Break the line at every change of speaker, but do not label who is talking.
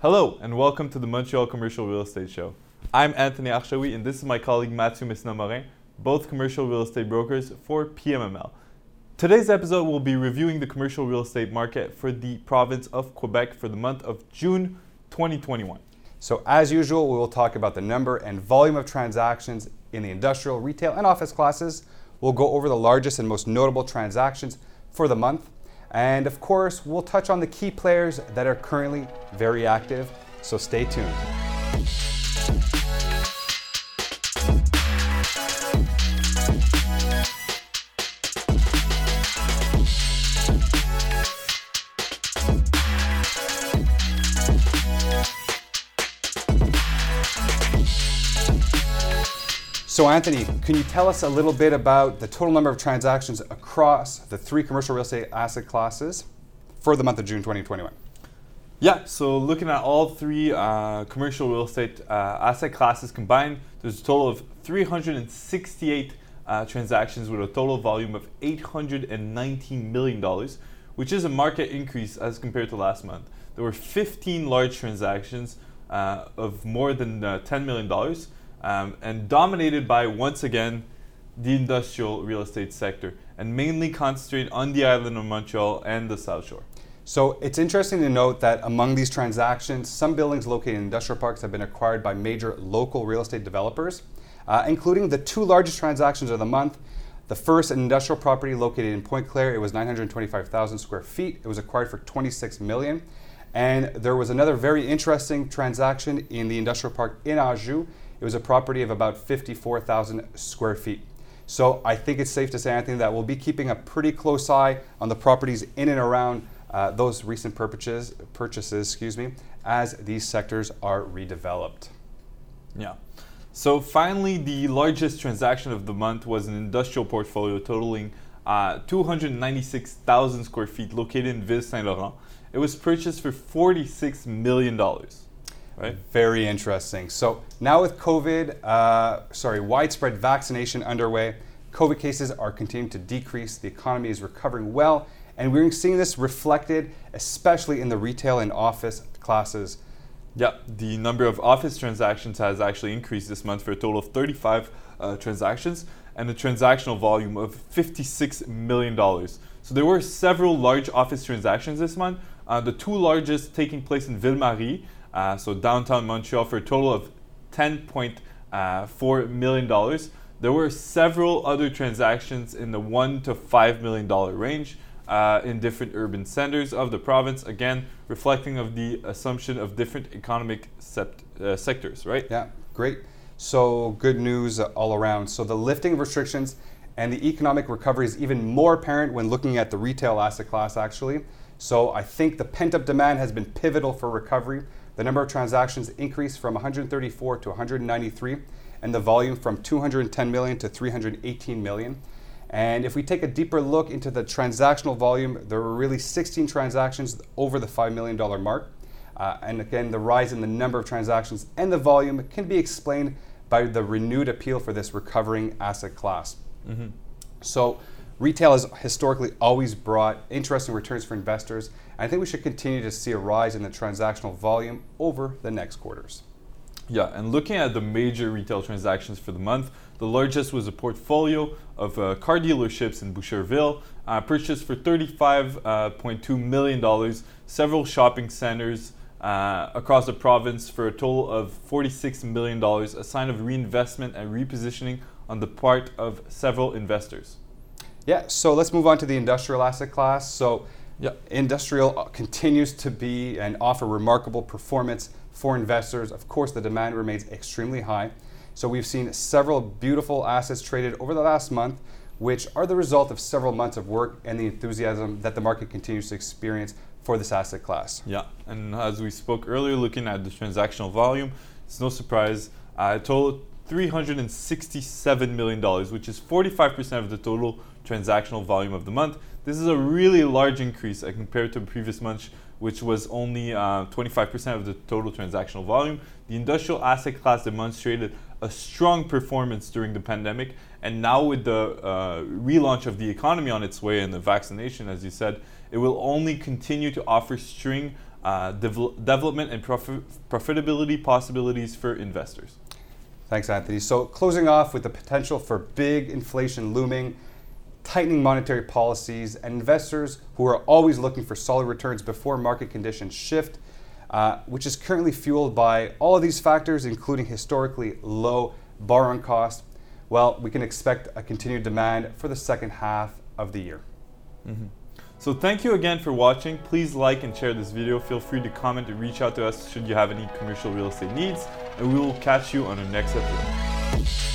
Hello, and welcome to the Montreal Commercial Real Estate Show. I'm Anthony Archaoui, and this is my colleague Mathieu Messina-Morin, both commercial real estate brokers for PMML. Today's episode will be reviewing the commercial real estate market for the province of Quebec for the month of June 2021.
So as usual, we will talk about the number and volume of transactions in the industrial, retail, and office classes. We'll go over the largest and most notable transactions for the month. And of course, we'll touch on the key players that are currently very active. So stay tuned. So Anthony, can you tell us a little bit about the total number of transactions across the three commercial real estate asset classes for the month of June 2021?
Yeah, so looking at all three commercial real estate asset classes combined, there's a total of 368 transactions with a total volume of $819 million, which is a market increase as compared to last month. There were 15 large transactions of more than $10 million. And dominated by, once again, the industrial real estate sector, and mainly concentrated on the island of Montreal and the South Shore.
So it's interesting to note that among these transactions, some buildings located in industrial parks have been acquired by major local real estate developers, including the two largest transactions of the month. The first, an industrial property located in Pointe-Claire, it was 925,000 square feet. It was acquired for $26 million. And there was another very interesting transaction in the industrial park in Anjou. It was a property of about 54,000 square feet. So I think it's safe to say, Anthony, that we'll be keeping a pretty close eye on the properties in and around those recent purchases, as these sectors are redeveloped.
Yeah. So finally, the largest transaction of the month was an industrial portfolio totaling 296,000 square feet located in Ville Saint-Laurent. It was purchased for $46 million. Right.
Very interesting. So now with widespread vaccination underway, COVID cases are continuing to decrease, the economy is recovering well, and we're seeing this reflected especially in the retail and office classes.
Yeah, the number of office transactions has actually increased this month for a total of 35 transactions and a transactional volume of $56 million. So there were several large office transactions this month, the two largest taking place in Ville-Marie, so downtown Montreal, for a total of $10.4 million. There were several other transactions in the $1 to $5 million range in different urban centers of the province, again, reflecting of the assumption of different economic sectors, right?
Yeah, great. So good news all around. So the lifting of restrictions and the economic recovery is even more apparent when looking at the retail asset class, actually. So I think the pent-up demand has been pivotal for recovery. The number of transactions increased from 134 to 193, and the volume from 210 million to 318 million. And if we take a deeper look into the transactional volume, there were really 16 transactions over the $5 million mark. And again, the rise in the number of transactions and the volume can be explained by the renewed appeal for this recovering asset class. Mm-hmm. So retail has historically always brought interesting returns for investors. And I think we should continue to see a rise in the transactional volume over the next quarters.
Yeah, and looking at the major retail transactions for the month, the largest was a portfolio of car dealerships in Boucherville, purchased for $35.2 million, several shopping centers across the province for a total of $46 million, a sign of reinvestment and repositioning on the part of several investors.
Yeah, so let's move on to the industrial asset class. So industrial continues to be and offer remarkable performance for investors. Of course, the demand remains extremely high. So we've seen several beautiful assets traded over the last month, which are the result of several months of work and the enthusiasm that the market continues to experience for this asset class.
Yeah, and as we spoke earlier, looking at the transactional volume, it's no surprise, it totaled $367 million, which is 45% of the total transactional volume of the month. This is a really large increase compared to the previous month, which was only 25% of the total transactional volume. The industrial asset class demonstrated a strong performance during the pandemic, and now with the relaunch of the economy on its way and the vaccination, as you said, it will only continue to offer string development and profitability possibilities for investors.
Thanks, Anthony. So closing off with the potential for big inflation looming, tightening monetary policies, and investors who are always looking for solid returns before market conditions shift, which is currently fueled by all of these factors, including historically low borrowing costs. Well, we can expect a continued demand for the second half of the year.
Mm-hmm. So thank you again for watching. Please like and share this video. Feel free to comment and reach out to us should you have any commercial real estate needs, and we will catch you on our next episode.